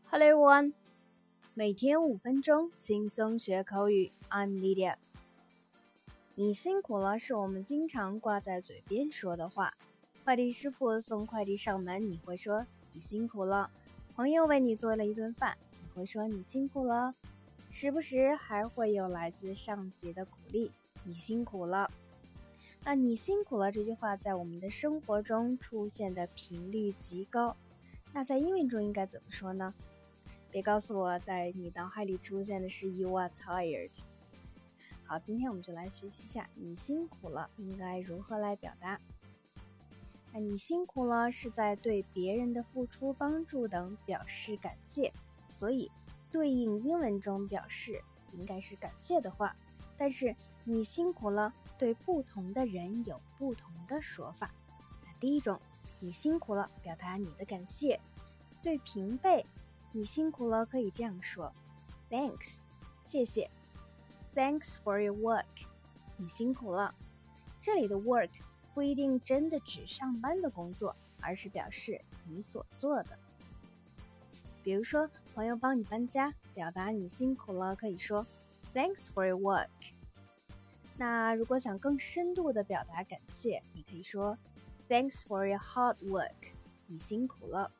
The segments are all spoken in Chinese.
Hello everyone， 每天5分钟轻松学口语。I'm Lydia。你辛苦了是我们经常挂在嘴边说的话。快递师傅送快递上门，你会说你辛苦了；朋友为你做了一顿饭，你会说你辛苦了。时不时还会有来自上级的鼓励，你辛苦了。那你辛苦了这句话在我们的生活中出现的频率极高。那在英文中应该怎么说呢？别告诉我在你脑海里出现的是 You are tired。 好，今天我们就来学习一下你辛苦了应该如何来表达。那你辛苦了是在对别人的付出帮助等表示感谢，所以对应英文中表示应该是感谢的话，但是你辛苦了对不同的人有不同的说法。那第一种，你辛苦了表达你的感谢，对平辈你辛苦了可以这样说 Thanks， 谢谢。 Thanks for your work， 你辛苦了。这里的 work 不一定真的指上班的工作，而是表示你所做的。比如说朋友帮你搬家，表达你辛苦了可以说 Thanks for your work。 那如果想更深度的表达感谢，你可以说 Thanks for your hard work， 你辛苦了。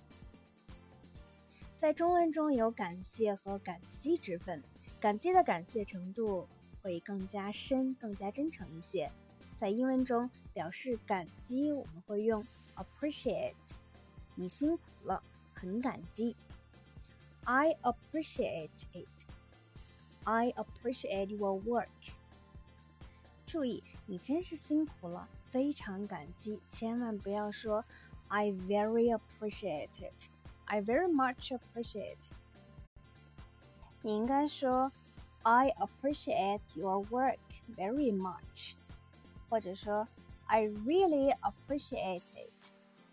在中文中有感谢和感激之分，感激的感谢程度会更加深，更加真诚一些。在英文中表示感激，我们会用 appreciate， 你辛苦了，很感激。 I appreciate it， I appreciate your work。 注意，你真是辛苦了，非常感激，千万不要说 I very appreciate it，I very much appreciate。 你应该说 I appreciate your work very much， 或者说 I really appreciate it，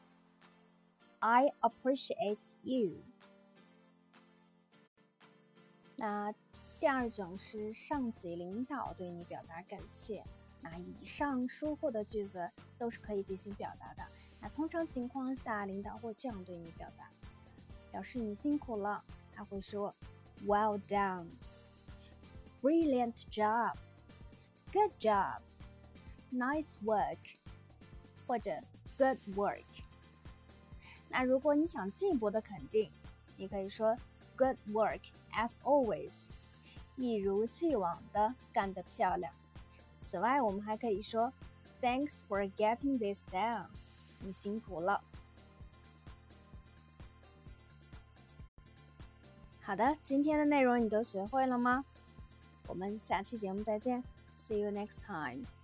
I appreciate you。 那第二种是上级领导对你表达感谢。那以上说过的句子都是可以进行表达的。那通常情况下，领导会这样对你表达，表示你辛苦了，他会说 Well done， Brilliant job， Good job， Nice work， 或者 Good work。 那如果你想进一步的肯定，你可以说 Good work as always， 一如既往的干得漂亮。此外，我们还可以说 Thanks for getting this done， 你辛苦了。好的，今天的内容你都学会了吗？我们下期节目再见。See you next time.